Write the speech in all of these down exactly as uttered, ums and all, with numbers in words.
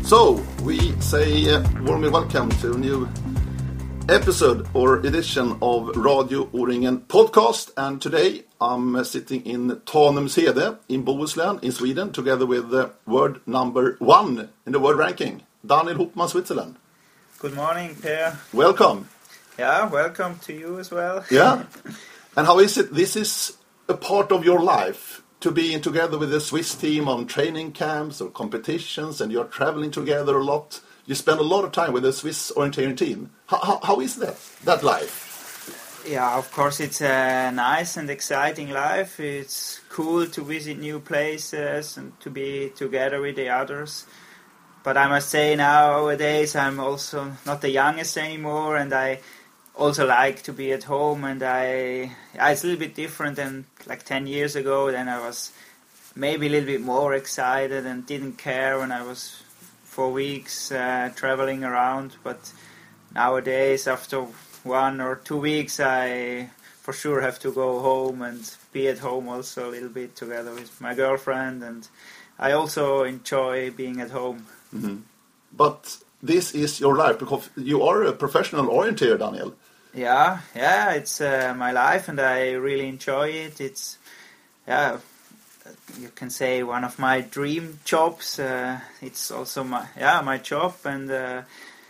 So, we say uh, warmly welcome to a new episode or edition of Radio O-ringen podcast. And today I'm uh, sitting in Tanumshede in Bohuslän in Sweden together with uh, word number one in the world ranking, Daniel Hopman, Switzerland. Good morning, Per. Welcome. Yeah, welcome to you as well. Yeah. And how is it? This is a part of your life, to be together with the Swiss team on training camps or competitions, and you're traveling together a lot. You spend a lot of time with the Swiss orienteering team. How, how, how is that, that life? Yeah, of course it's a nice and exciting life. It's cool to visit new places and to be together with the others. But I must say nowadays I'm also not the youngest anymore, and I also like to be at home, and I yeah, it's a little bit different than like ten years ago. Then I was maybe a little bit more excited and didn't care when I was for weeks uh, traveling around. But nowadays, after one or two weeks, I for sure have to go home and be at home also a little bit together with my girlfriend, and I also enjoy being at home. Mm-hmm. But this is your life because you are a professional orienteer, Daniel. Yeah, yeah, it's uh, my life, and I really enjoy it. It's, yeah, you can say one of my dream jobs. Uh, it's also my, yeah, my job, and uh,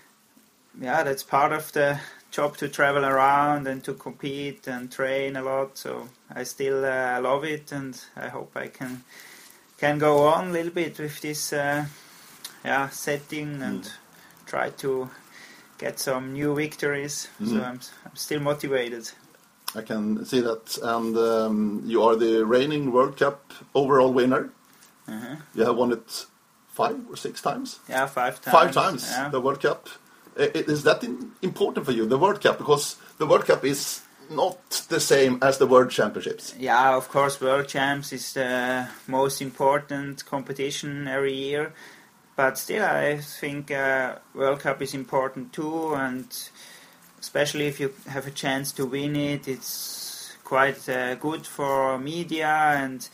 yeah, that's part of the job, to travel around and to compete and train a lot. So I still uh, love it, and I hope I can can go on a little bit with this, uh, yeah, setting and mm. try to get some new victories. Mm. So I'm, I'm still motivated. I can see that. And um, you are the reigning World Cup overall winner. Uh-huh. You have won it five or six times? Yeah, five times. Five times, yeah. The World Cup. Is that important for you, the World Cup? Because the World Cup is not the same as the World Championships. Yeah, of course, World Champs is the most important competition every year. But still, I think uh, World Cup is important too, and especially if you have a chance to win it, it's quite uh, good for media, and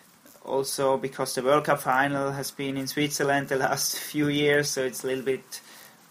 also because the World Cup final has been in Switzerland the last few years, so it's a little bit,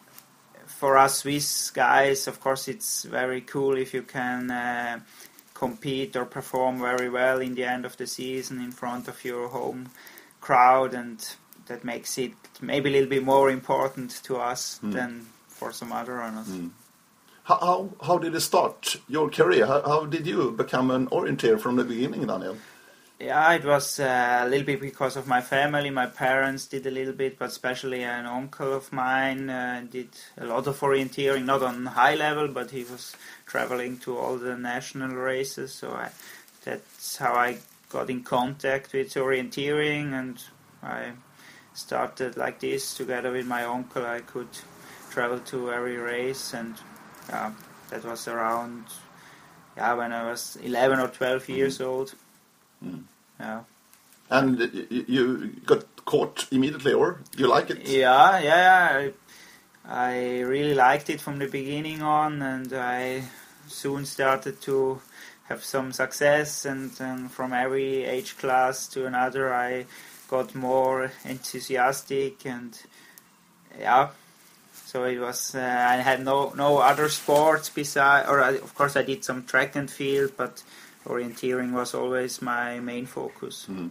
for us Swiss guys, of course it's very cool if you can uh, compete or perform very well in the end of the season in front of your home crowd, and that makes it maybe a little bit more important to us mm. than for some other runners. Mm. How, how how did it start, your career? How, how did you become an orienteer from the beginning, Daniel? Yeah, it was uh, a little bit because of my family. My parents did a little bit, but especially an uncle of mine uh, did a lot of orienteering, not on high level, but he was traveling to all the national races. So I, that's how I got in contact with orienteering, and I started like this together with my uncle. I could travel to every race, and uh, that was around yeah when I was eleven or twelve mm. years old. Mm. Yeah. And you got caught immediately, or you like it? Yeah, yeah. I, I really liked it from the beginning on, and I soon started to have some success, and, and from every age class to another I got more enthusiastic, and yeah, so it was. Uh, I had no no other sports beside, or I, of course I did some track and field, but orienteering was always my main focus. Mm-hmm.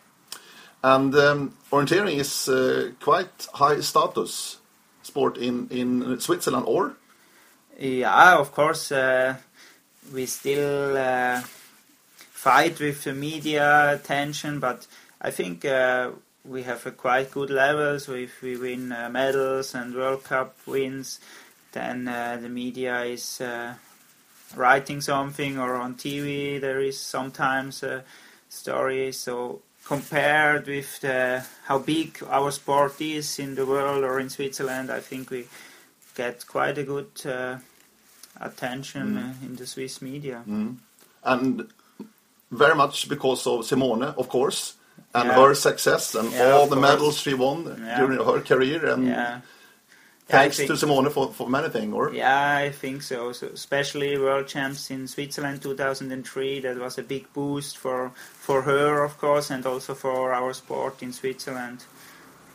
And um, orienteering is uh, quite high status sport in in Switzerland, or? Yeah, of course uh, we still uh, fight with the media attention, but I think uh, we have a quite good level. So if we win uh, medals and World Cup wins, then uh, the media is uh, writing something, or on T V there is sometimes a story. So compared with the, how big our sport is in the world or in Switzerland, I think we get quite a good uh, attention mm. uh, in the Swiss media. Mm. And very much because of Simone, of course. And yeah. her success and yeah, all the course. medals she won yeah. during her career, and yeah. thanks yeah, to Simone for, for many things, or? Yeah, I think so. So especially World Champs in Switzerland two thousand three, that was a big boost for, for her, of course, and also for our sport in Switzerland.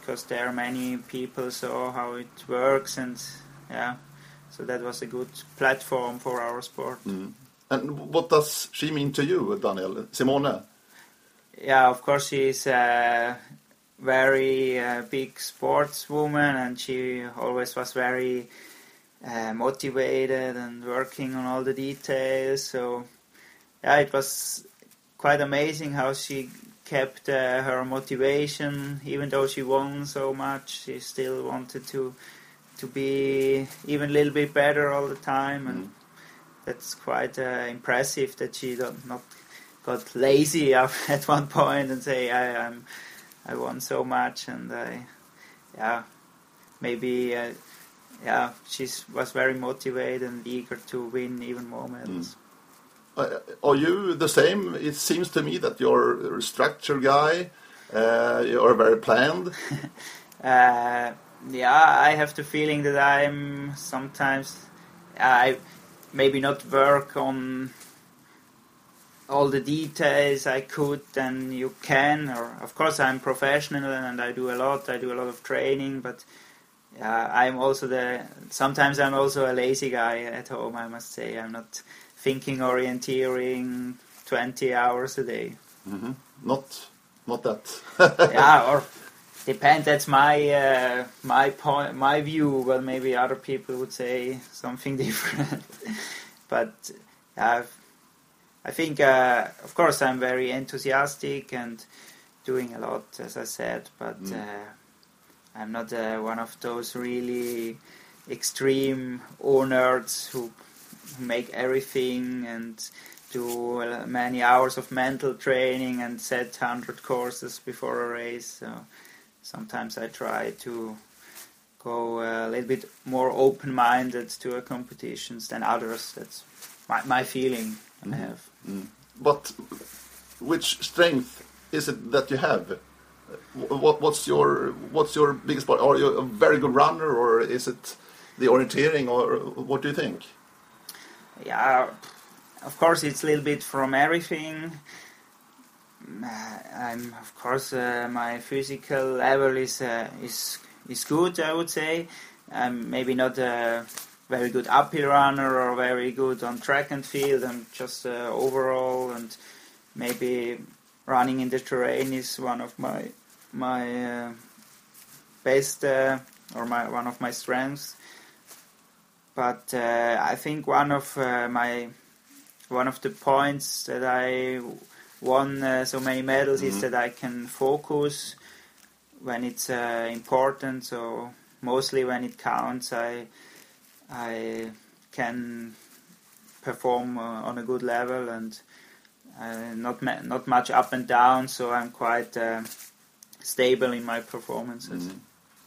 because there many people saw how it works, and yeah, so that was a good platform for our sport. Mm. And what does she mean to you, Daniel? Simone? Yeah, of course she's a very uh, big sportswoman, and she always was very uh, motivated and working on all the details. So yeah, it was quite amazing how she kept uh, her motivation, even though she won so much. She still wanted to to be even a little bit better all the time, and mm. that's quite uh, impressive that she don't, not got lazy at one point and say I I'm, I won so much, and I yeah maybe uh, yeah she was very motivated and eager to win even more medals. Mm. Uh, are you the same? It seems to me that you're a structure guy. Uh, you're very planned. uh, yeah, I have the feeling that I'm sometimes I maybe not work on all the details I could and you can. Or of course I'm professional and I do a lot. I do a lot of training, but yeah, I'm also the. Sometimes I'm also a lazy guy at home. I must say I'm not thinking orienteering twenty hours a day. Mm-hmm. Not, not that. Yeah, or depend. That's my uh, my point, my view. Well, maybe other people would say something different. But uh, I think, uh, of course, I'm very enthusiastic and doing a lot, as I said. But mm. uh, I'm not uh, one of those really extreme nerds who make everything and do many hours of mental training and set hundred courses before a race. So sometimes I try to go a little bit more open-minded to a competitions than others. That's my, my feeling mm-hmm. I have. Mm. But which strength is it that you have? What, what's your what's your biggest part? Are you a very good runner, or is it the orienteering, or what do you think? Yeah, of course it's a little bit from everything. I'm of course uh, my physical level is uh, is is good, I would say. I'm maybe not a very good uphill runner or very good on track and field. I'm just uh, overall, and maybe running in the terrain is one of my my uh, best uh, or my one of my strengths. But uh, I think one of uh, my one of the points that I won uh, so many medals mm-hmm. is that I can focus when it's uh, important. So mostly when it counts, I I can perform uh, on a good level and uh, not ma- not much up and down. So I'm quite uh, stable in my performances. Mm-hmm.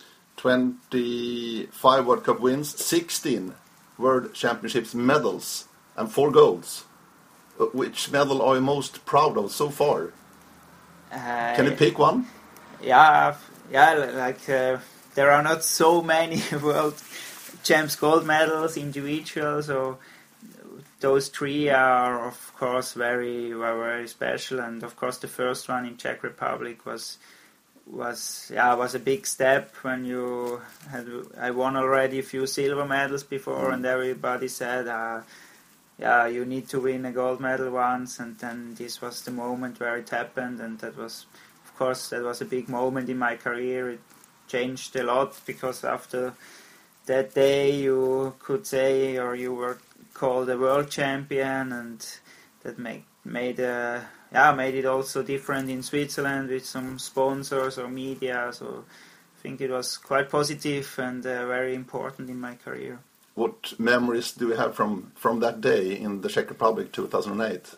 twenty-five World Cup wins, sixteen World Championships medals, and four golds. Which medal are you most proud of so far? Uh, Can you pick one? Yeah, yeah. Like uh, there are not so many World Champs gold medals individual, so those three are of course very, very, very special. And of course, the first one in Czech Republic was. was yeah was a big step when you had I won already a few silver medals before, mm. and everybody said uh, yeah you need to win a gold medal once, and then this was the moment where it happened, and that was of course that was a big moment in my career. It changed a lot because after that day you could say, or you were called a world champion, and that make, made a Yeah, made it also different in Switzerland with some sponsors or media. So I think it was quite positive and uh, very important in my career. What memories do you have from, from that day in the Czech Republic two thousand eight?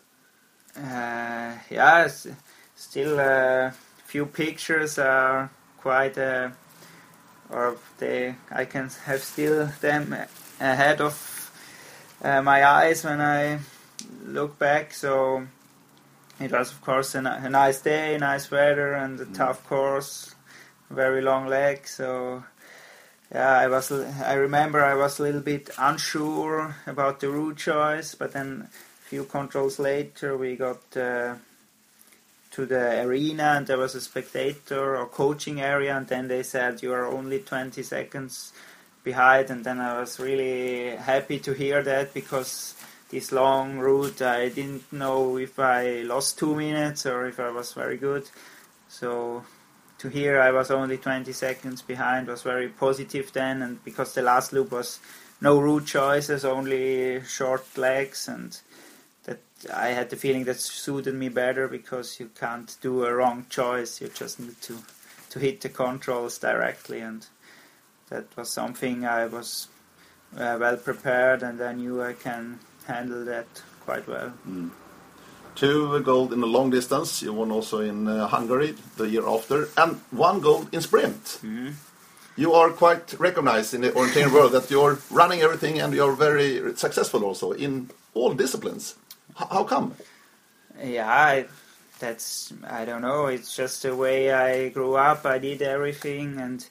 Uh, yeah, still a uh, few pictures are quite, uh, or they I can have still them ahead of uh, my eyes when I look back. So. It was, of course, a, a nice day, nice weather, and a mm. tough course, very long leg. So, yeah, I was. I remember I was a little bit unsure about the route choice, but then a few controls later we got uh, to the arena, and there was a spectator or coaching area, and then they said you are only twenty seconds behind, and then I was really happy to hear that, because this long route I didn't know if I lost two minutes or if I was very good. So to hear I was only twenty seconds behind was very positive then, and because the last loop was no route choices, only short legs, and that I had the feeling that suited me better, because you can't do a wrong choice, you just need to, to hit the controls directly, and that was something I was uh, well prepared, and I knew I can handle that quite well. Mm. Two gold in the long distance, you won also in uh, Hungary the year after, and one gold in sprint. Mm-hmm. You are quite recognized in the orienteering world that you're running everything, and you're very successful also in all disciplines. H- how come? Yeah, I, that's, I don't know, it's just the way I grew up. I did everything, and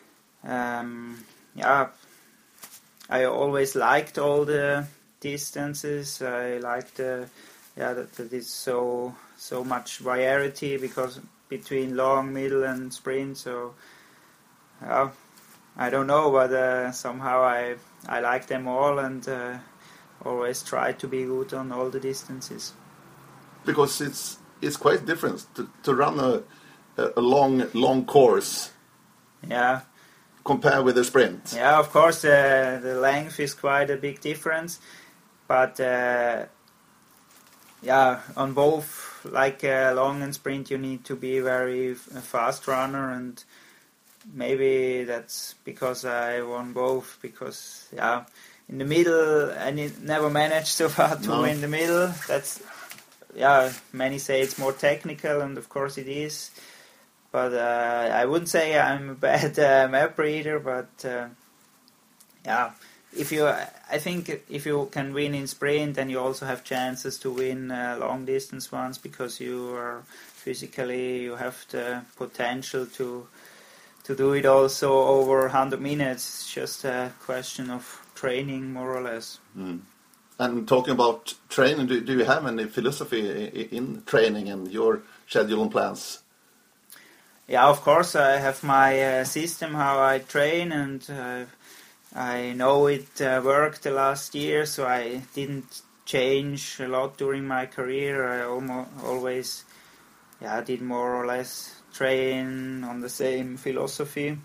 um, yeah, I always liked all the distances. I liked the, yeah, that, that it's so so much variety, because between long, middle, and sprint. So, yeah, I don't know, but uh, somehow I I like them all, and uh, always try to be good on all the distances. Because it's it's quite different to, to run a a long long course. Yeah. Compared with a sprint. Yeah, of course, uh, the length is quite a big difference, but uh, yeah, on both, like uh, long and sprint, you need to be very f- a fast runner, and maybe that's because I won both. Because yeah, in the middle, I ne- never managed so far to No. win the middle. That's yeah, many say it's more technical, and of course it is. But uh, I wouldn't say I'm a bad uh, map reader, but uh, yeah, if you, I think if you can win in sprint, then you also have chances to win uh, long distance ones, because you are physically, you have the potential to to do it also over one hundred minutes. It's just a question of training, more or less. Mm. And talking about training, do, do you have any philosophy in, in training and your schedule and plans? Yeah, of course, I have my uh, system how I train, and uh, I know it uh, worked the last year, so I didn't change a lot during my career. I almost always, yeah, did more or less train on the same philosophy.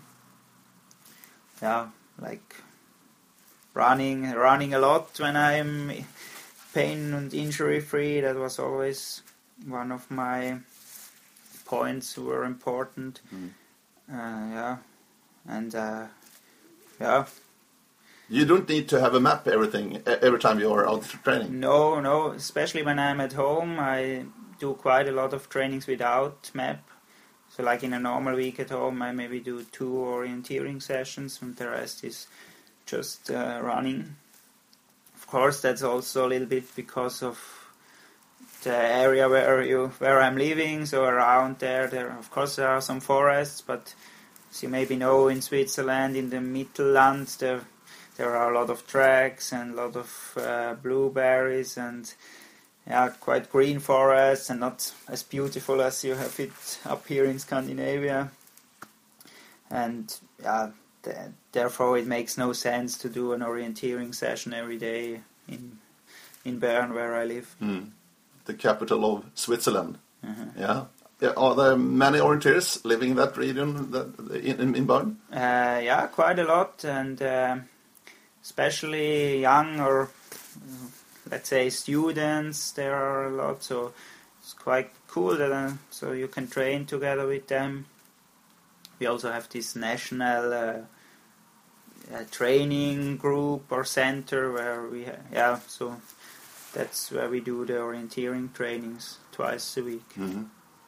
Yeah, like running, running a lot when I'm pain and injury free. That was always one of my points were important. Mm. Uh, yeah, and uh, yeah. You don't need to have a map everything every time you are out training. No, no. Especially when I'm at home, I do quite a lot of trainings without map. So, like in a normal week at home, I maybe do two orienteering sessions, and the rest is just uh, running. Of course, that's also a little bit because of the area where you where I'm living. So around there, there of course there are some forests, but as you maybe know, in Switzerland, in the Mittelland, there there are a lot of tracks and a lot of uh, blueberries and yeah, quite green forests, and not as beautiful as you have it up here in Scandinavia. And yeah, th- therefore it makes no sense to do an orienteering session every day in in Bern, where I live. Mm. The capital of Switzerland. Uh-huh. Yeah. Yeah. Are there many orienteers living in that region, that, in, in, in Bern? Uh, yeah, quite a lot, and uh, especially young or uh, let's say students, there are a lot, so it's quite cool that uh, so you can train together with them. We also have this national uh, uh, training group or center where we ha- yeah, so that's where we do the orienteering trainings twice a week. Mm-hmm.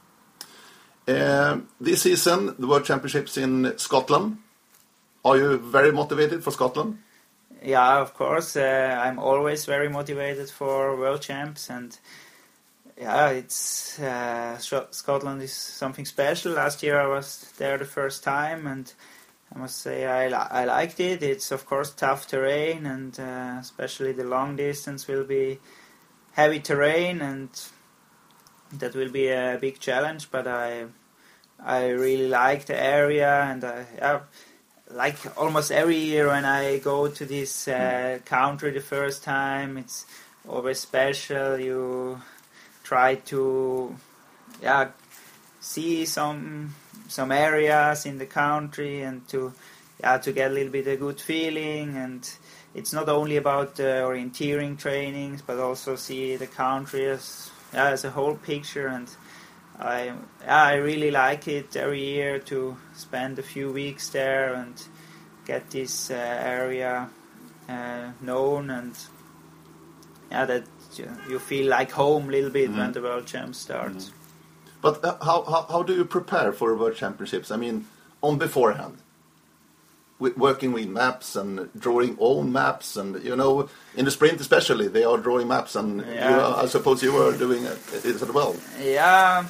Uh, this season, the World Championships in Scotland. Are you very motivated for Scotland? Yeah, of course. Uh, I'm always very motivated for World Champs, and yeah, it's uh, Scotland is something special. Last year I was there the first time, and I must say I li- I liked it. It's of course tough terrain, and uh, especially the long distance will be heavy terrain, and that will be a big challenge, but I I really like the area, and I yeah, like almost every year when I go to this uh, country the first time, it's always special. You try to yeah see some some areas in the country and to yeah to get a little bit a good feeling. And it's not only about the orienteering trainings, but also see the country as yeah, as a whole picture. And I yeah, I really like it every year to spend a few weeks there and get this uh, area uh, known, and yeah, that you feel like home a little bit mm-hmm. when the World Champs starts. Mm-hmm. But uh, how, how how do you prepare for World Championships? I mean, on beforehand, with working with maps and drawing own maps, and you know, in the sprint especially, they are drawing maps, and yeah. you know, I suppose you were doing it, it as well. Yeah,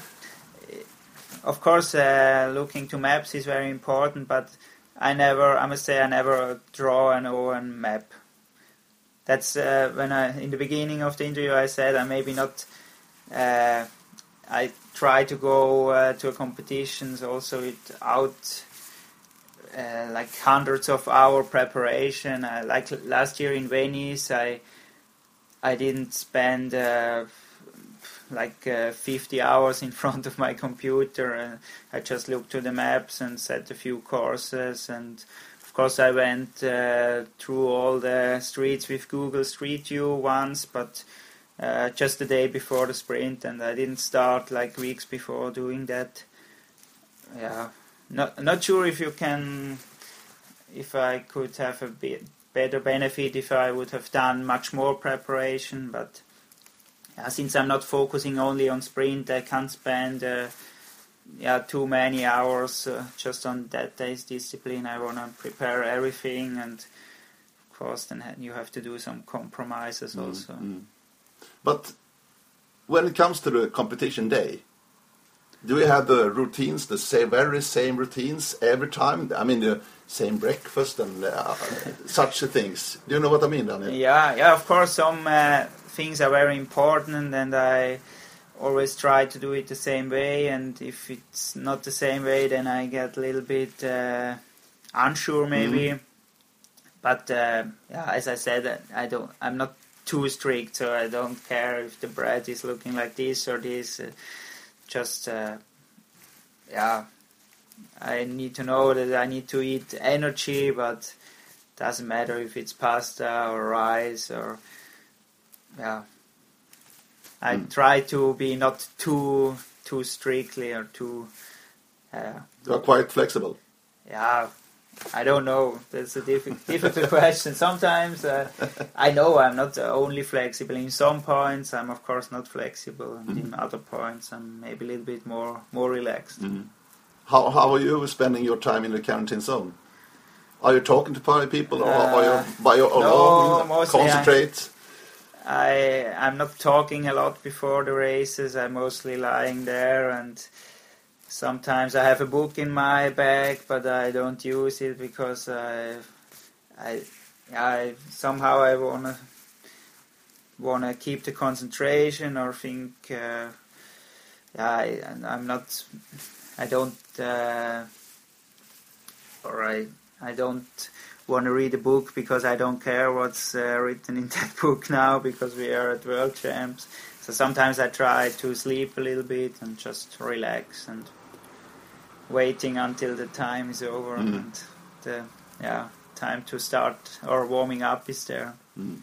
of course, uh, looking to maps is very important, but I never, I must say, I never draw an own map. That's uh, when I, in the beginning of the interview, I said I maybe not. Uh, I try to go uh, to competitions also without uh, like hundreds of hour preparation. Uh, like last year in Venice, I I didn't spend uh, like uh, fifty hours in front of my computer. Uh, I just looked to the maps and set a few courses, and of course I went uh, through all the streets with Google Street View once, but uh, just the day before the sprint, and I didn't start like weeks before doing that. Yeah, not not sure if you can, if I could have a bit better benefit if I would have done much more preparation, but yeah, since I'm not focusing only on sprint, I can't spend uh, yeah too many hours uh, just on that day's discipline. I want to prepare everything, and of course then you have to do some compromises mm, also. Mm. But when it comes to the competition day, do you have the routines, the same, very same routines every time? I mean, the same breakfast and uh, such things. Do you know what I mean, Daniel? Yeah, yeah. Of course, some uh, things are very important, and I always try to do it the same way. And if it's not the same way, then I get a little bit uh, unsure, maybe. Mm. But uh, yeah, as I said, I don't. I'm not too strict, so I don't care if the bread is looking like this or this. Uh, just uh, yeah. I need to know that I need to eat energy, but doesn't matter if it's pasta or rice or yeah. I mm. try to be not too too strictly or too. Uh, you are quite flexible. Yeah, I don't know. That's a diff- difficult question. Sometimes uh, I know I'm not only flexible. In some points, I'm of course not flexible, and mm-hmm. in other points, I'm maybe a little bit more more relaxed. Mm-hmm. How how are you spending your time in the quarantine zone? Are you talking to people, or uh, are you by your no, own mostly concentrate? I, I I'm not talking a lot before the races. I'm mostly lying there, and sometimes I have a book in my bag, but I don't use it because I I I somehow I wanna wanna keep the concentration or think. Uh, yeah, I, I'm not. I don't, uh, or I, I don't want to read a book because I don't care what's uh, written in that book now, because we are at World Champs. So sometimes I try to sleep a little bit and just relax and waiting until the time is over mm. and the yeah time to start or warming up is there. Mm.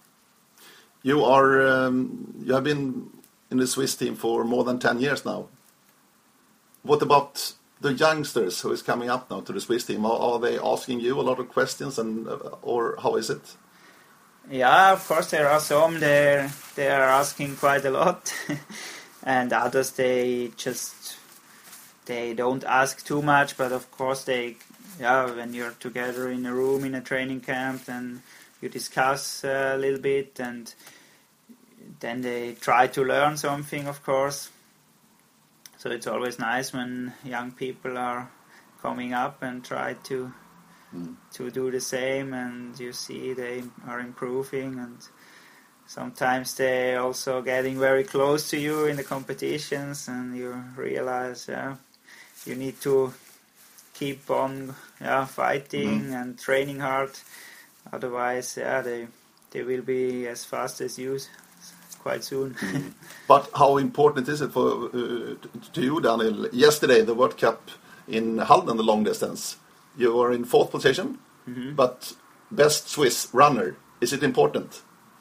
You are um, you have been in the Swiss team for more than ten years now. What about the youngsters who is coming up now to the Swiss team? Are, are they asking you a lot of questions, and uh, or how is it? Yeah, of course there are some. They they are asking quite a lot, and others they just they don't ask too much. But of course they yeah when you're together in a room in a training camp, then you discuss uh, a little bit, and then they try to learn something, of course. So it's always nice when young people are coming up and try to mm. to do the same, and you see they are improving, and sometimes they're also getting very close to you in the competitions, and you realize, yeah, you need to keep on, yeah, fighting mm-hmm. and training hard. Otherwise, yeah, they they will be as fast as you quite soon. Mm. But how important is it for uh, to you, Daniel? Yesterday, the World Cup in Halden, the long distance, you were in fourth position, mm-hmm. but best Swiss runner. Is it important?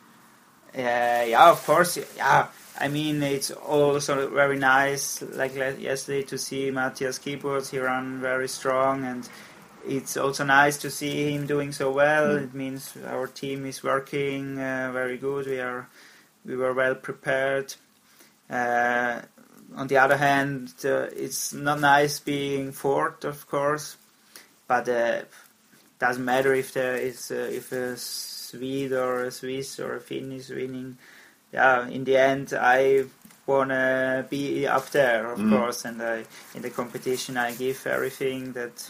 Uh, yeah, of course. Yeah, I mean, it's also very nice, like yesterday, to see Matthias Kiburz. He ran very strong, and it's also nice to see him doing so well. Mm. It means our team is working uh, very good. We are, we were well prepared. Uh, on the other hand, uh, it's not nice being fourth, of course, but it uh, doesn't matter if there is uh, if a Swede or a Swiss or a Finn is winning. Yeah, in the end, I wanna be up there, of mm. course, and I, in the competition, I give everything that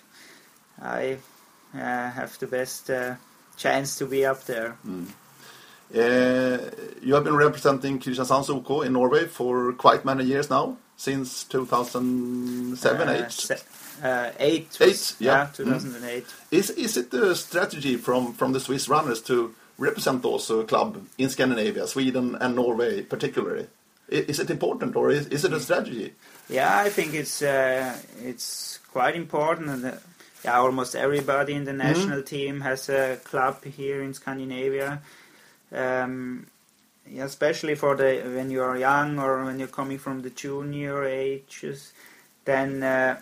I uh, have the best uh, chance to be up there. Mm. Uh, you have been representing Kristiansands O K in Norway for quite many years now, since two thousand seven, uh, eight? Se- uh, eight, eight, was, yeah, yeah, two thousand eight. Mm. Is is it the strategy from, from the Swiss runners to represent also a club in Scandinavia, Sweden and Norway particularly? Is it important, or is, is it a strategy? Yeah, I think it's uh, it's quite important, and uh, yeah, almost everybody in the national mm. team has a club here in Scandinavia. Um, yeah, especially for the when you are young or when you're coming from the junior ages, then uh,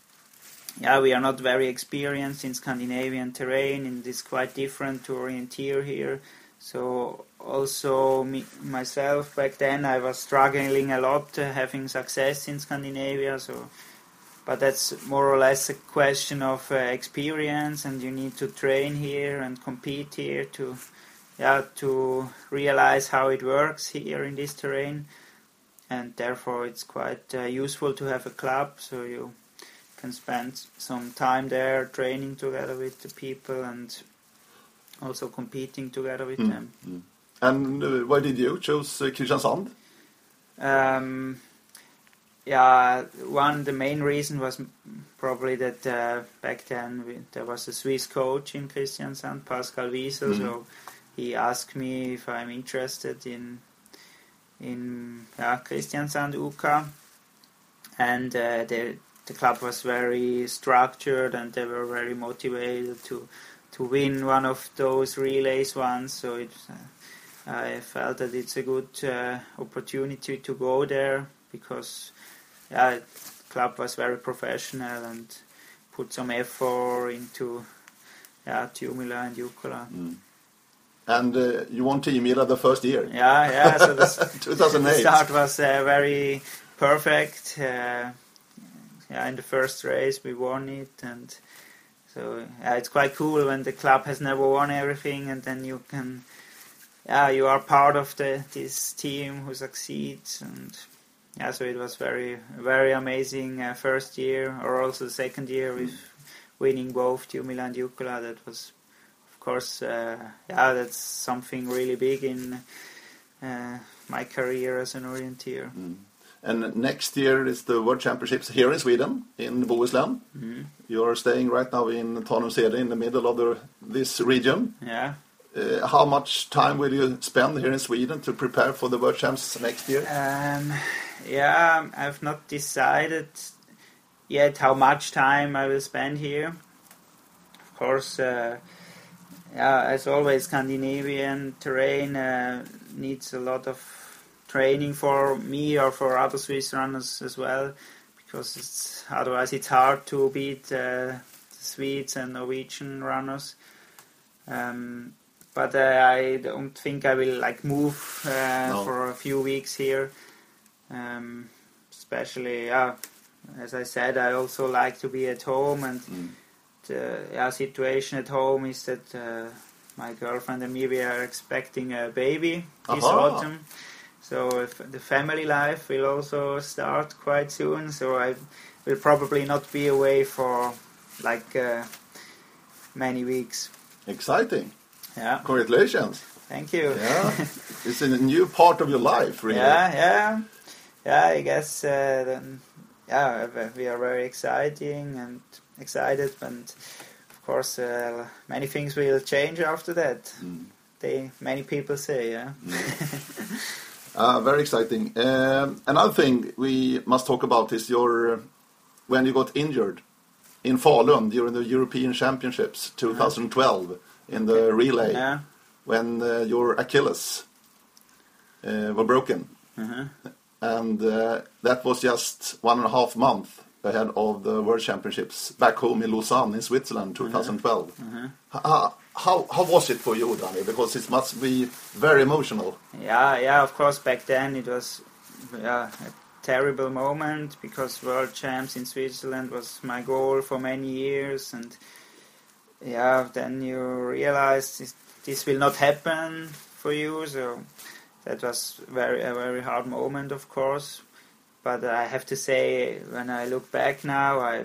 yeah, we are not very experienced in Scandinavian terrain, and it's quite different to orienteer here. So also me, myself back then, I was struggling a lot uh, having success in Scandinavia. So, but that's more or less a question of uh, experience, and you need to train here and compete here to. Yeah, to realize how it works here in this terrain, and therefore it's quite uh, useful to have a club, so you can spend some time there training together with the people and also competing together with mm. them. Mm. And uh, why did you choose uh, Kristiansand? Um, yeah, one the main reason was probably that uh, back then we, there was a Swiss coach in Kristiansand, Pascal Wiesel, mm. so he asked me if I'm interested in in yeah, Kristiansand U K, and uh, the the club was very structured and they were very motivated to to win one of those relays once. So it, uh, I felt that it's a good uh, opportunity to go there because yeah, the club was very professional and put some effort into yeah, Tiomila and Jukkola. Mm. And uh, you won Tiomila the first year. Yeah, yeah. So the, two thousand eight. The start was uh, very perfect. Uh, yeah, in the first race we won it, and so yeah, it's quite cool when the club has never won everything, and then you can, yeah, you are part of the this team who succeeds, and yeah, so it was very very amazing uh, first year, or also the second year with winning both Tiomila and Jukkola. That was. Of course, uh, yeah, that's something really big in uh, my career as an orienteer. Mm. And next year is the World Championships here in Sweden, in Bohuslän. Mm. You're staying right now in Tanumshede, in the middle of the, this region. Yeah. Uh, how much time will you spend here in Sweden to prepare for the World Champs next year? Um, yeah, I've not decided yet how much time I will spend here. Of course, uh, yeah, as always, Scandinavian terrain uh, needs a lot of training for me or for other Swiss runners as well, because it's otherwise it's hard to beat uh, the Swedes and Norwegian runners. Um, but uh, I don't think I will like move uh, no. for a few weeks here. Um, especially, yeah, as I said, I also like to be at home, and. Mm. The yeah, situation at home is that uh, my girlfriend and me, we are expecting a baby this Aha. autumn. So if the family life will also start quite soon. So I will probably not be away for like uh, many weeks. Exciting. Yeah. Congratulations. Thank you. Yeah. It's a new part of your life, really. Yeah, yeah. Yeah, I guess, uh, then, yeah, we are very exciting and excited, and of course, uh, many things will change after that. Mm. They, many people say, yeah. Mm. uh, very exciting. Um, another thing we must talk about is your, uh, when you got injured in Falun during the European Championships twenty twelve in the relay, Yeah. when uh, your Achilles uh, were broken. Uh-huh. And uh, that was just one and a half month ahead of the World Championships back home in Lausanne in Switzerland twenty twelve. Uh-huh. How, how, how was it for you, Danny? Because it must be very emotional. Yeah, yeah, of course, back then it was yeah, a terrible moment, because World Champs in Switzerland was my goal for many years, and yeah, then you realize this, this will not happen for you, so that was very a very hard moment, of course. But I have to say, when I look back now, I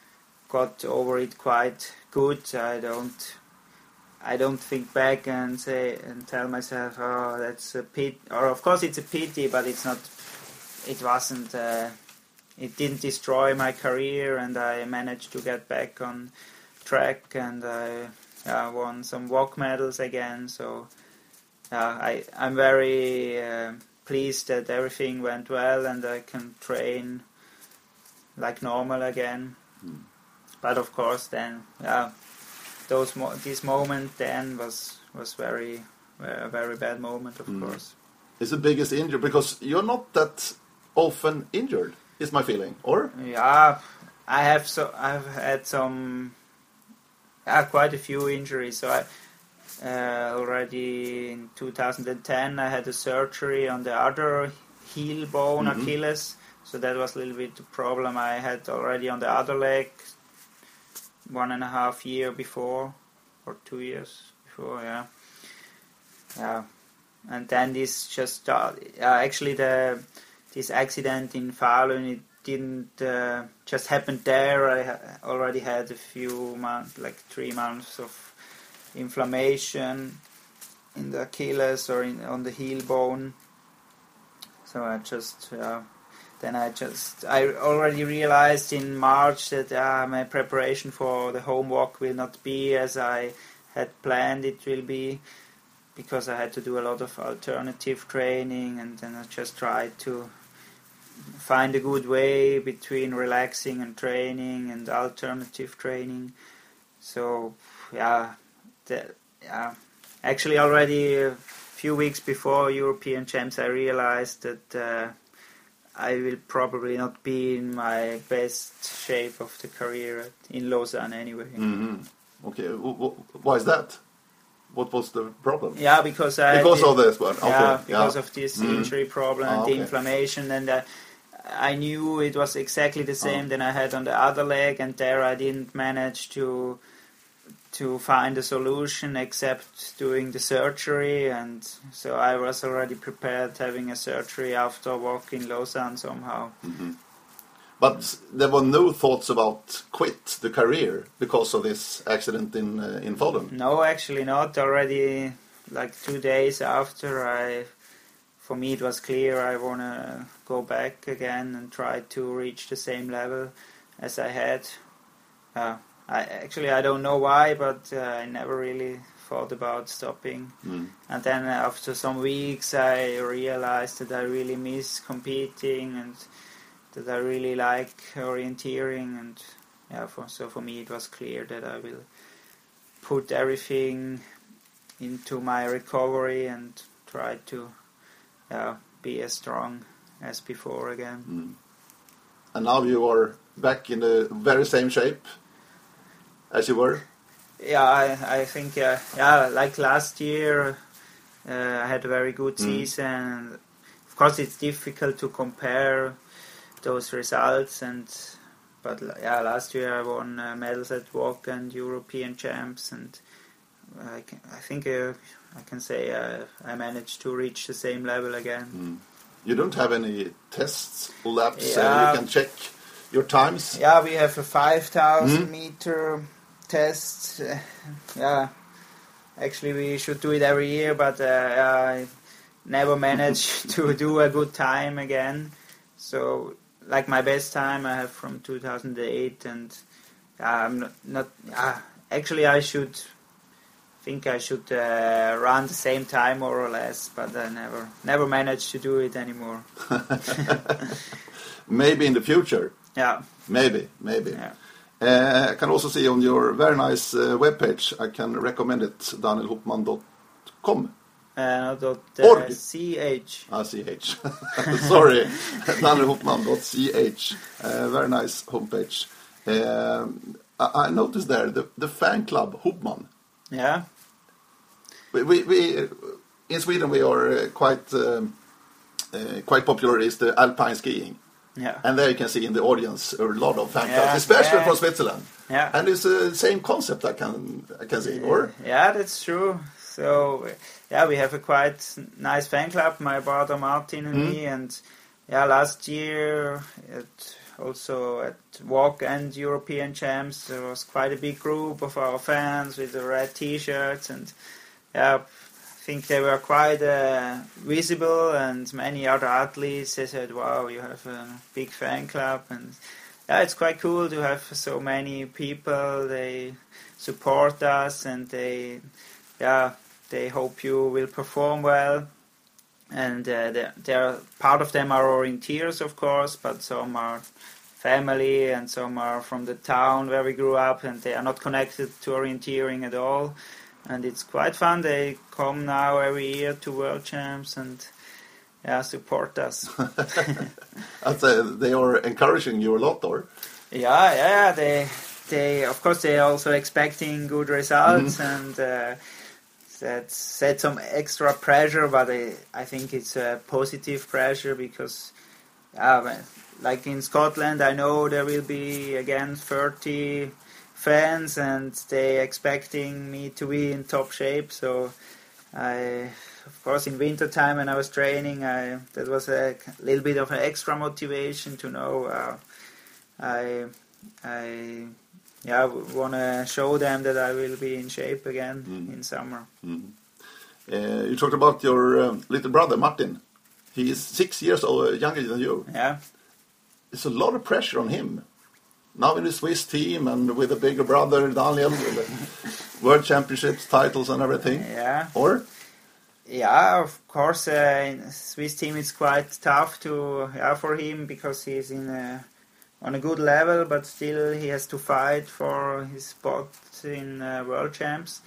got over it quite good. I don't, I don't think back and say and tell myself, "Oh, that's a pity." Or of course, it's a pity, but it's not. It wasn't. Uh, it didn't destroy my career, and I managed to get back on track, and I uh, won some walk medals again. So uh, I, I'm very uh, pleased that everything went well, and I can train like normal again. Mm. But of course, then yeah, those mo- this moment then was was very a very bad moment, of Mm. course. It's the biggest injury because you're not that often injured, is my feeling, or? Yeah, I have so I've had some yeah, quite a few injuries. So I uh, already in two thousand ten I had a surgery on the other heel bone, Mhm. Achilles. So that was a little bit the problem I had already on the other leg one and a half year before, or two years before, yeah. Yeah. And then this just started. Uh, actually, the this accident in Falun, it didn't uh, just happen there. I ha- already had a few months, like three months of inflammation in the Achilles or in, on the heel bone. So I just, uh, then I just, I already realized in March that uh, my preparation for the home walk will not be as I had planned it will be, because I had to do a lot of alternative training, and then I just tried to find a good way between relaxing and training and alternative training. So yeah, the, yeah. Actually already a few weeks before European Champs I realized that uh, I will probably not be in my best shape of the career in Lausanne anyway. Mm-hmm. Okay, w- w- why is that? What was the problem? Yeah, because I because did, of this one. Okay. yeah, because yeah. of this Mm. injury problem Ah, and okay. the inflammation, and uh, I knew it was exactly the same oh. than I had on the other leg, and there I didn't manage to to find a solution except doing the surgery, and so I was already prepared having a surgery after walking Lausanne somehow. Mm-hmm. But there were no thoughts about quit the career because of this accident in uh, in Falun? No, actually not. Already like two days after, I, for me it was clear I want to go back again and try to reach the same level as I had. Uh, I actually I don't know why, but uh, I never really thought about stopping. Mm. And then after some weeks, I realized that I really miss competing and that I really like orienteering, and yeah, for, so for me it was clear that I will put everything into my recovery and try to uh, be as strong as before again. Mm. And now you are back in the very same shape as you were? Yeah, I, I think, uh, yeah, like last year, uh, I had a very good Mm. season. Of course, it's difficult to compare those results, and but yeah, last year I won uh, medals at Walk and European Champs, and I, can, I think uh, I can say uh, I managed to reach the same level again. Mm. You don't have any tests or laps? Yeah. Uh, you can check your times? Yeah, we have a five thousand Mm. meter test. Uh, yeah, actually we should do it every year, but uh, I never managed to do a good time again. So, like my best time I have from two thousand eight, and uh, I'm not, not uh, actually I should think I should uh, run the same time more or less, but I never never managed to do it anymore. Maybe in the future. Yeah. Maybe, maybe. Yeah. Uh, I can also see on your very nice uh, webpage, I can recommend it, daniel hopman dot com. Uh, dot, uh, Org. ch. Ah, ch. Sorry, daniel hopman dot c h. Uh, very nice homepage. Um, I, I noticed there the, the fan club Hopman. Yeah. We, we, we in Sweden we are uh, quite um, uh, quite popular is the alpine skiing. Yeah. And there you can see in the audience a lot of fan clubs, Yeah, especially yeah. from Switzerland. Yeah. And it's the same concept I can I can see, or? Yeah, that's true. So, yeah, we have a quite nice fan club, my brother Martin and Mm. me, and yeah, last year at, also at Walk and European Champs, there was quite a big group of our fans with the red T-shirts, and yeah, I think they were quite uh, visible, and many other athletes, they said, wow, you have a big fan club, and yeah, it's quite cool to have so many people, they support us, and they, yeah, they hope you will perform well, and uh, they, they're, part of them are orienteers, of course, but some are family, and some are from the town where we grew up, and they are not connected to orienteering at all. And it's quite fun. They come now every year to World Champs and yeah, support us. I'd say they are encouraging you a lot, or? Yeah, yeah. They, they, of course, they are also expecting good results, mm-hmm. and uh, that set some extra pressure. But I, I think it's a positive pressure because, yeah, like in Scotland, I know there will be again thirty fans, and they expecting me to be in top shape. So I, of course, in winter time when I was training, I that was a little bit of an extra motivation to know uh, I I yeah want to show them that I will be in shape again mm. in summer. Mm. Uh, you talked about your um, little brother Martin. He is six years old, younger than you. Yeah, it's a lot of pressure on him. Now in the Swiss team and with a bigger brother, Daniel, with the World Championships titles and everything. Yeah. Or? Yeah, of course, uh, in the Swiss team it's quite tough to yeah, for him because he's in a, on a good level, but still he has to fight for his spot in uh, World Champs.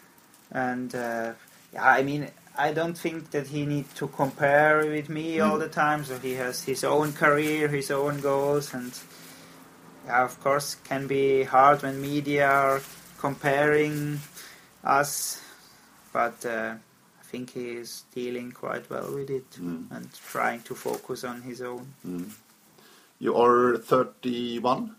And uh, yeah, I mean, I don't think that he needs to compare with me mm. all the time. So he has his own career, his own goals, and yeah, of course, it can be hard when media are comparing us, but uh, I think he is dealing quite well with it mm. and trying to focus on his own. Mm. You are thirty-one?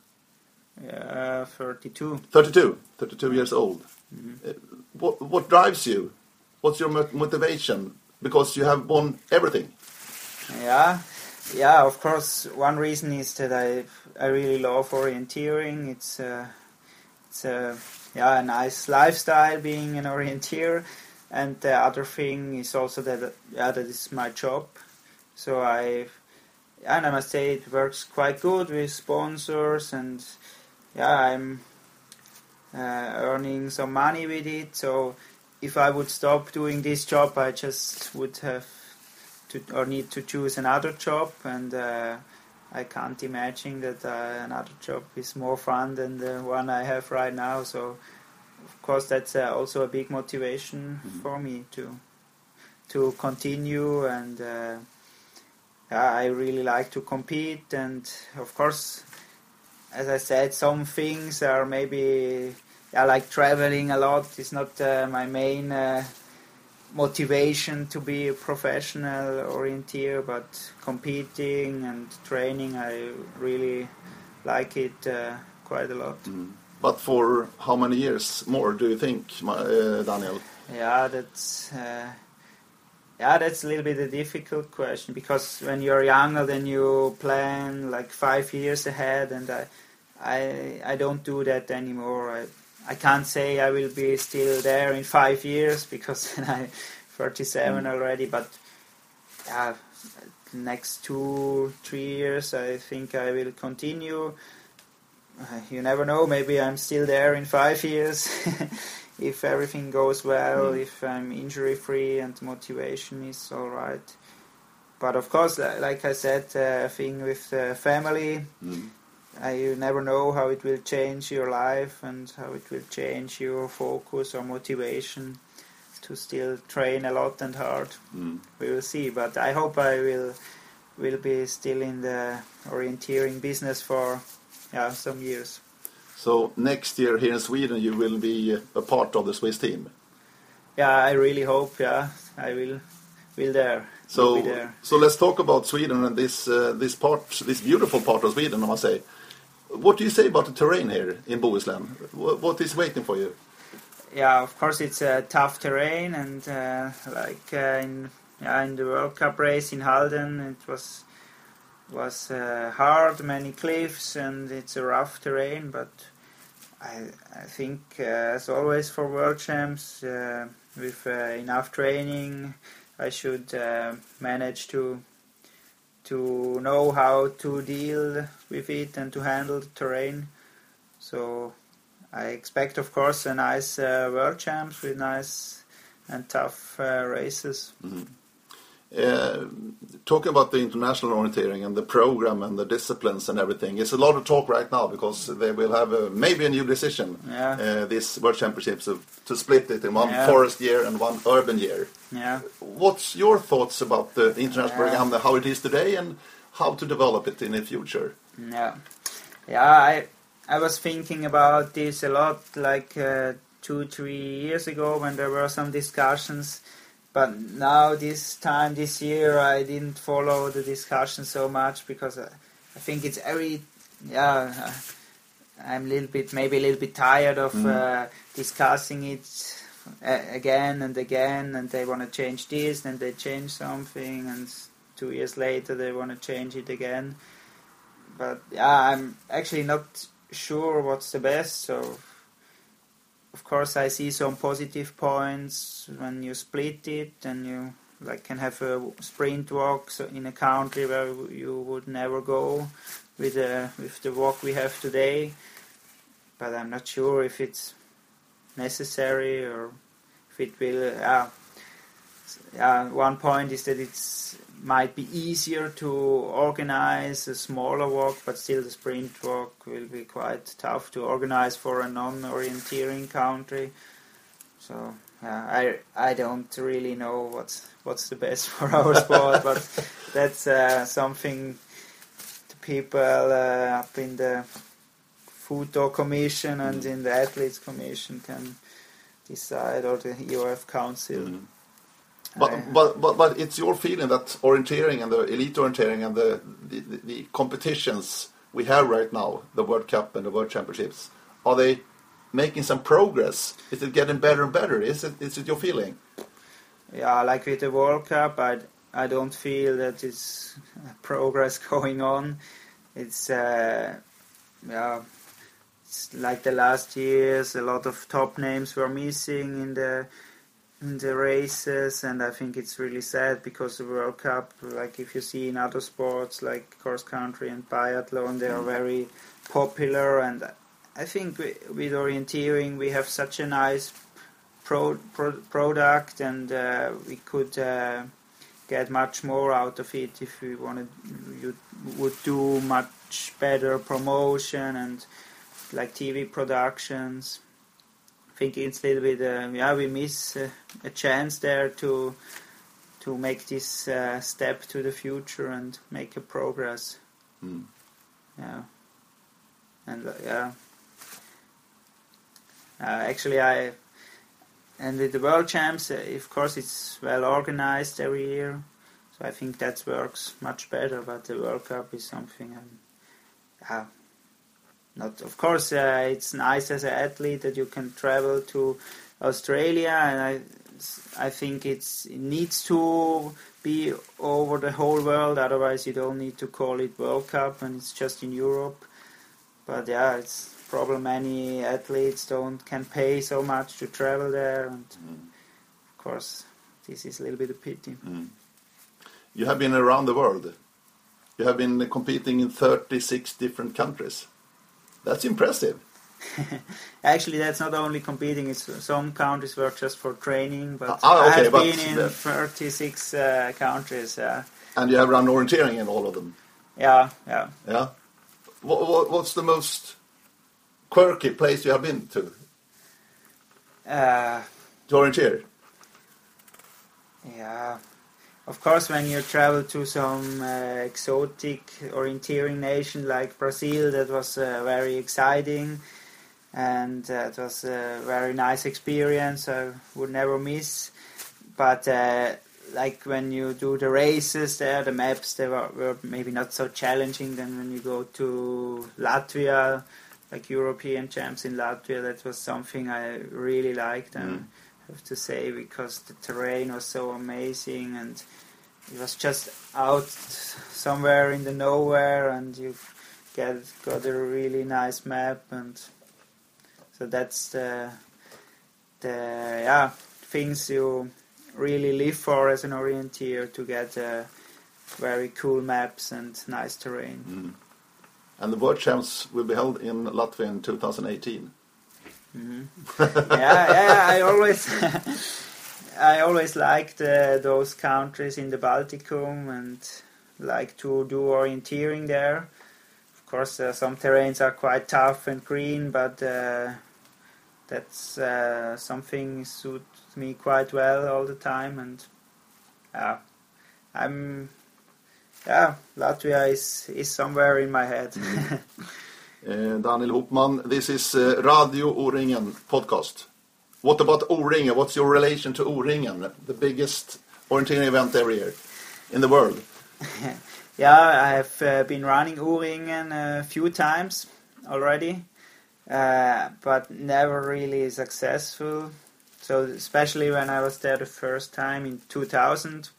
Yeah, thirty-two. thirty-two, thirty-two years old. Mm-hmm. Uh, what, what drives you? What's your motivation? Because you have won everything. Yeah. Yeah, of course. One reason is that I I really love orienteering. It's uh, it's a yeah a nice lifestyle being an orienteer, and the other thing is also that yeah that is my job. So I and I must say it works quite good with sponsors, and yeah I'm uh, earning some money with it. So if I would stop doing this job, I just would have. To, or need to choose another job, and uh, I can't imagine that uh, another job is more fun than the one I have right now. So, of course, that's uh, also a big motivation mm-hmm. for me to to continue. And uh, yeah, I really like to compete. And of course, as I said, some things are maybe yeah, like traveling a lot is not uh, my main. Uh, motivation to be a professional orienteer, but competing and training I really like it uh, quite a lot. Mm. But for how many years more do you think, uh, Daniel? Yeah, that's uh, yeah, that's a little bit a difficult question, because when you're younger then you plan like five years ahead, and I I, I don't do that anymore. I I can't say I will be still there in five years because I'm thirty-seven mm. already. But yeah, the next two, three years, I think I will continue. Uh, you never know. Maybe I'm still there in five years if everything goes well, mm. if I'm injury free and motivation is all right. But of course, like I said, uh, thing with uh, family. Mm. Uh, you never know how it will change your life and how it will change your focus or motivation to still train a lot and hard. Mm. We will see, but I hope I will will be still in the orienteering business for yeah, some years. So next year here in Sweden you will be a part of the Swiss team? Yeah, I really hope, yeah, I will will there. So, will be there. So let's talk about Sweden and this uh, this part, this beautiful part of Sweden, I must say. What do you say about the terrain here in Bohuslän? What is waiting for you? Yeah, of course it's a tough terrain, and uh, like uh, in yeah, in the World Cup race in Halden, it was was uh, hard, many cliffs, and it's a rough terrain. But I I think uh, as always for World Champs, uh, with uh, enough training, I should uh, manage to. to know how to deal with it and to handle the terrain. So I expect, of course, a nice uh, World Champs with nice and tough uh, races. Mm-hmm. Uh, talking about the international orienteering and the program and the disciplines and everything, it's a lot of talk right now because they will have a, maybe a new decision, yeah. uh, this World Championships, of, to split it in one yeah. forest year and one urban year. Yeah. What's your thoughts about the international yeah. program, how it is today and how to develop it in the future? Yeah, yeah. I I was thinking about this a lot, like uh, two, three years ago when there were some discussions. But now, this time, this year, I didn't follow the discussion so much because I, I think it's every, yeah, I'm a little bit, maybe a little bit tired of mm. uh, discussing it uh, again and again, and they want to change this, and they change something, and two years later they want to change it again. But yeah, I'm actually not sure what's the best, so... Of course, I see some positive points when you split it and you like can have a sprint walk in a country where you would never go with the with the walk we have today. But I'm not sure if it's necessary or if it will. Uh, uh, one point is that it's might be easier to organize a smaller walk, but still the sprint walk will be quite tough to organize for a non-orienteering country. So yeah, I I don't really know what's what's the best for our sport, but that's uh, something the people uh, up in the Futo Commission and in the Athletes Commission can decide, or the E O F Council. Mm. But, but but but it's your feeling that orienteering and the elite orienteering and the, the, the competitions we have right now, the World Cup and the World Championships, are they making some progress? Is it getting better and better? Is it is it your feeling? Yeah, like with the World Cup, I, I don't feel that it's progress going on. It's uh, yeah, it's like the last years, a lot of top names were missing in the. in the races, and I think it's really sad because the World Cup, like if you see in other sports like cross country and biathlon, they are very popular, and I think we, with orienteering we have such a nice pro, pro, product, and uh, we could uh, get much more out of it if we wanted. You would do much better promotion and like T V productions. I think it's a little bit, uh, yeah, we miss uh, a chance there to to make this uh, step to the future and make a progress. Mm. Yeah, and uh, yeah, uh, actually I, and with the World Champs, uh, of course it's well organized every year, so I think that works much better. But the World Cup is something, um, yeah. Not, of course, uh, it's nice as an athlete that you can travel to Australia, and I, I think it's, it needs to be over the whole world. Otherwise, you don't need to call it World Cup, and it's just in Europe. But yeah, it's probably many athletes don't can pay so much to travel there, and Mm. of course this is a little bit a pity. Mm. You have been around the world. You have been competing in thirty-six different countries. That's impressive. Actually, that's not only competing. It's some countries were just for training, but Ah, okay, I have but been in the- thirty-six uh, countries. Uh, And you have run orienteering in all of them. yeah, yeah. Yeah. What, what, what's the most quirky place you have been to? Uh, To orienteer? yeah. Of course, when you travel to some uh, exotic orienteering nation like Brazil, that was uh, very exciting, and uh, it was a very nice experience. I would never miss. But uh, like when you do the races there, the maps they were, were maybe not so challenging than when you go to Latvia, like European champs in Latvia. That was something I really liked, and Mm. I have to say, because the terrain was so amazing, and it was just out somewhere in the nowhere, and you get got a really nice map, and so that's the the yeah things you really live for as an orienteer, to get uh, very cool maps and nice terrain. Mm. And the World Champs will be held in Latvia in two thousand eighteen. hmm yeah, yeah, I always, I always liked uh, those countries in the Balticum, and like to do orienteering there. Of course, uh, some terrains are quite tough and green, but uh, that's uh, something suits me quite well all the time, and yeah, I'm yeah, Latvia is is somewhere in my head. Uh, Daniel Hopman, this is uh, Radio O-ringen podcast. What about O-ringen? What's your relation to O-ringen, the biggest orienteering event every year in the world? Yeah, I have uh, been running O-ringen a few times already, uh, but never really successful. So especially when I was there the first time in two thousand,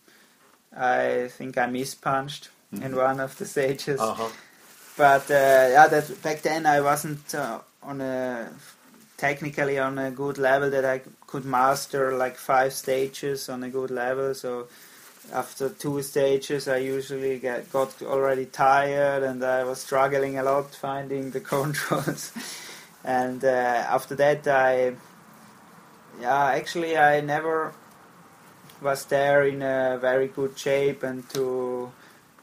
I think I mispunched mm-hmm. in one of the stages. Uh-huh. But uh, yeah, that back then I wasn't uh, on a technically on a good level that I could master like five stages on a good level. So after two stages, I usually get got already tired, and I was struggling a lot finding the controls. And uh, after that, I yeah actually I never was there in a very good shape and to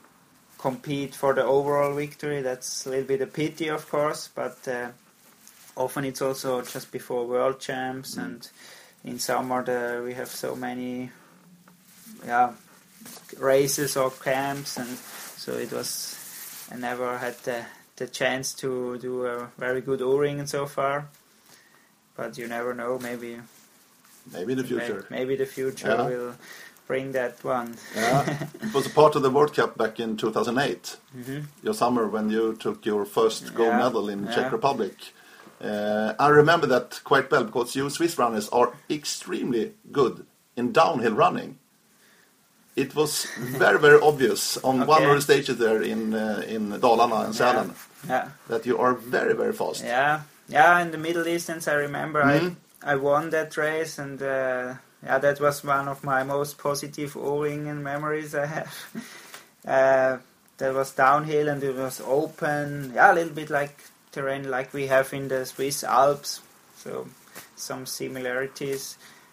compete for the overall victory. That's a little bit a pity, of course, but uh, often it's also just before World Champs, mm. and in summer the, we have so many yeah races or camps, and so it was I never had the, the chance to do a very good O-ring so far, but you never know, maybe maybe in the future maybe, maybe the future yeah. will bring that one. Yeah. It was a part of the World Cup back in two thousand eight, mm-hmm. your summer when you took your first gold yeah. medal in yeah. Czech Republic. Uh, I remember that quite well because you Swiss runners are extremely good in downhill running. It was very, very obvious on okay. one of the stages there in uh, in Dalarna and Sälen yeah. yeah. that you are very, very fast. Yeah, yeah. In the middle distance, I remember mm-hmm. I I won that race, and uh, yeah, that was one of my most positive O-ringen memories I have. uh, that was downhill and it was open. Yeah, a little bit like terrain like we have in the Swiss Alps, so some similarities.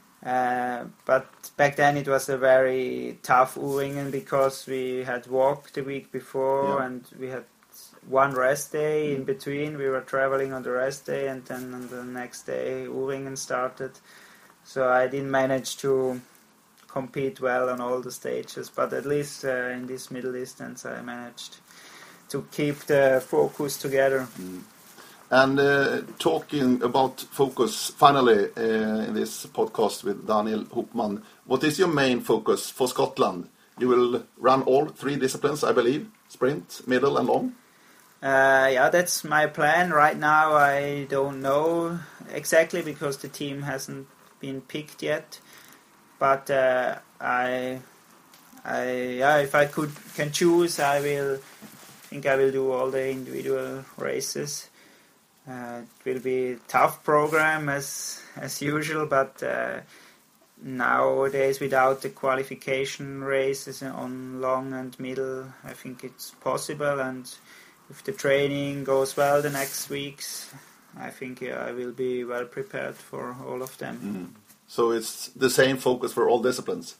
Uh, but back then it was a very tough O-ringen because we had walked the week before yeah. and we had one rest day mm. in between. We were traveling on the rest day, and then on the next day O-ringen started. So I didn't manage to compete well on all the stages, but at least uh, in this middle distance I managed to keep the focus together. Mm. And uh, talking about focus, finally, uh, in this podcast with Daniel Hopman, what is your main focus for Scotland? You will run all three disciplines, I believe, sprint, middle and long? Uh, yeah, that's my plan. Right now I don't know exactly because the team hasn't been picked yet. But uh, I, I, yeah, if I could can choose, I will. I think I will do all the individual races. Uh, it will be a tough program as as usual, but uh, nowadays without the qualification races on long and middle, I think it's possible. And if the training goes well the next weeks, I think yeah, I will be well prepared for all of them. Mm. So it's the same focus for all disciplines?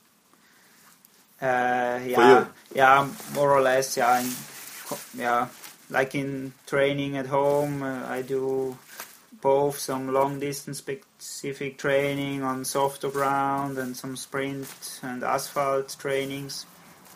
Uh, yeah, yeah, more or less. Yeah, in, yeah. Like in training at home, uh, I do both some long distance specific training on softer ground and some sprint and asphalt trainings.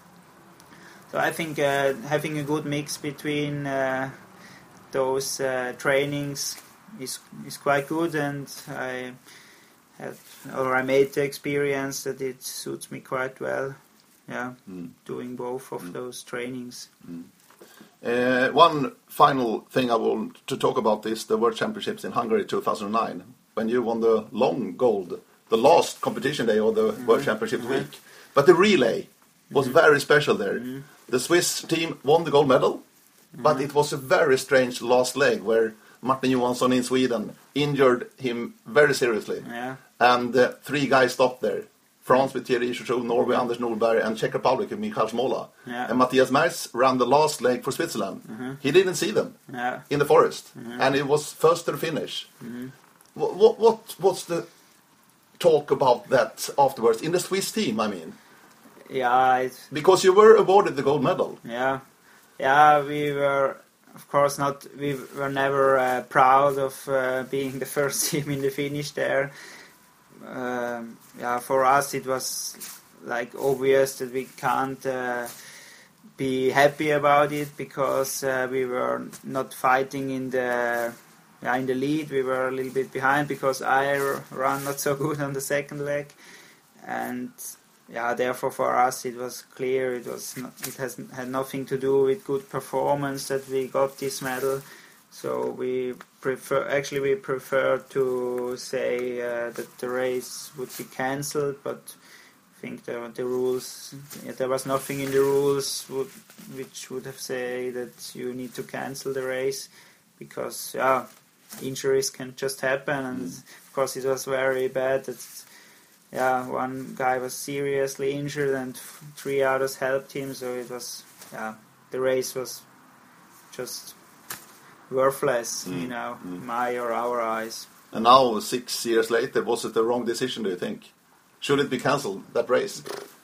So I think uh, having a good mix between uh, those uh, trainings is is quite good, and I have or I made the experience that it suits me quite well. Yeah, mm. doing both of mm. those trainings. Mm. Uh, one final thing I want to talk about is the World Championships in Hungary two thousand nine, when you won the long gold, the last competition day of the mm-hmm. World Championship mm-hmm. week. But the relay was mm-hmm. very special there. Mm-hmm. The Swiss team won the gold medal, mm-hmm. but it was a very strange last leg where Martin Johansson in Sweden injured him very seriously. Yeah. And uh, three guys stopped there. France with Thierry Chouchou, Norway Anders Nordberg, and Czech Republic with Michal Smola. Yeah. And Matthias Merz ran the last leg for Switzerland. Mm-hmm. He didn't see them yeah. in the forest, mm-hmm. and it was first to the finish. Mm-hmm. What, what, what what's the talk about that afterwards in the Swiss team? I mean, yeah, it's, because you were awarded the gold medal. Yeah, yeah, we were. Of course not. We were never uh, proud of uh, being the first team in the finish there. Um, yeah, for us it was like obvious that we can't uh, be happy about it because uh, we were not fighting in the yeah, in the lead. We were a little bit behind because I ran not so good on the second leg, and yeah, therefore for us it was clear it was not, it has had nothing to do with good performance that we got this medal. So we prefer, actually we prefer to say uh, that the race would be cancelled, but I think the, the rules, yeah, there was nothing in the rules would, which would have said that you need to cancel the race, because yeah, injuries can just happen, and mm. of course it was very bad that yeah, one guy was seriously injured and three others helped him, so it was, yeah, the race was just worthless, mm. you know, mm. my or our eyes. And now, six years later, was it the wrong decision, do you think? Should it be cancelled, that race?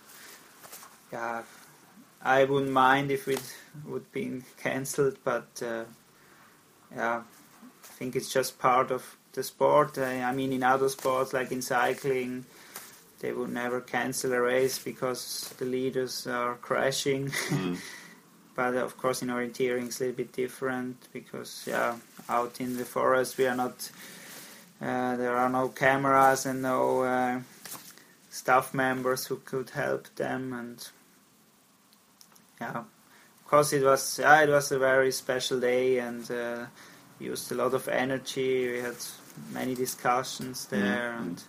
Yeah, I wouldn't mind if it would be cancelled, but uh, yeah, I think it's just part of the sport. I, I mean, in other sports, like in cycling, they would never cancel a race because the leaders are crashing. Mm. But of course in orienteering it's a little bit different because yeah, out in the forest we are not, uh, there are no cameras and no uh, staff members who could help them, and yeah, of course it was yeah, it was a very special day and uh, used a lot of energy. We had many discussions there, mm-hmm. and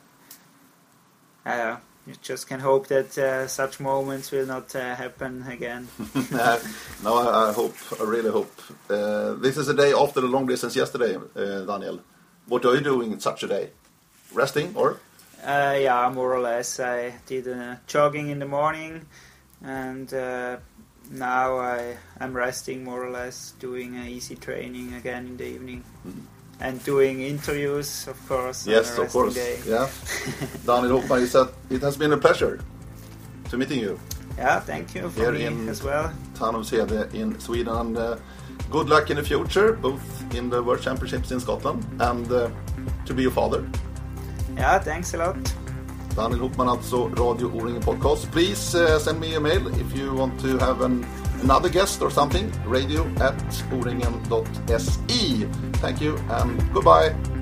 uh, you just can hope that uh, such moments will not uh, happen again. No, I, I hope, I really hope. Uh, this is a day after the long distance yesterday, uh, Daniel. What are you doing in such a day? Resting or? Uh, yeah, more or less. I did uh, jogging in the morning, and uh, now I am resting more or less, doing uh, easy training again in the evening. Mm-hmm. And doing interviews, of course. Yes, of course. Day. Yeah. Daniel Hoffman, he said it has been a pleasure to meeting you. Yeah, thank you for Here me as well. Tanumshede in Sweden, and uh, good luck in the future, both in the World Championships in Scotland and uh, to be your father. Yeah, thanks a lot. Daniel Hoffman, alltså Radio O-ringen Podcast. Please uh, send me a mail if you want to have an another guest or something. Radio at o ringen dot se. Thank you and goodbye.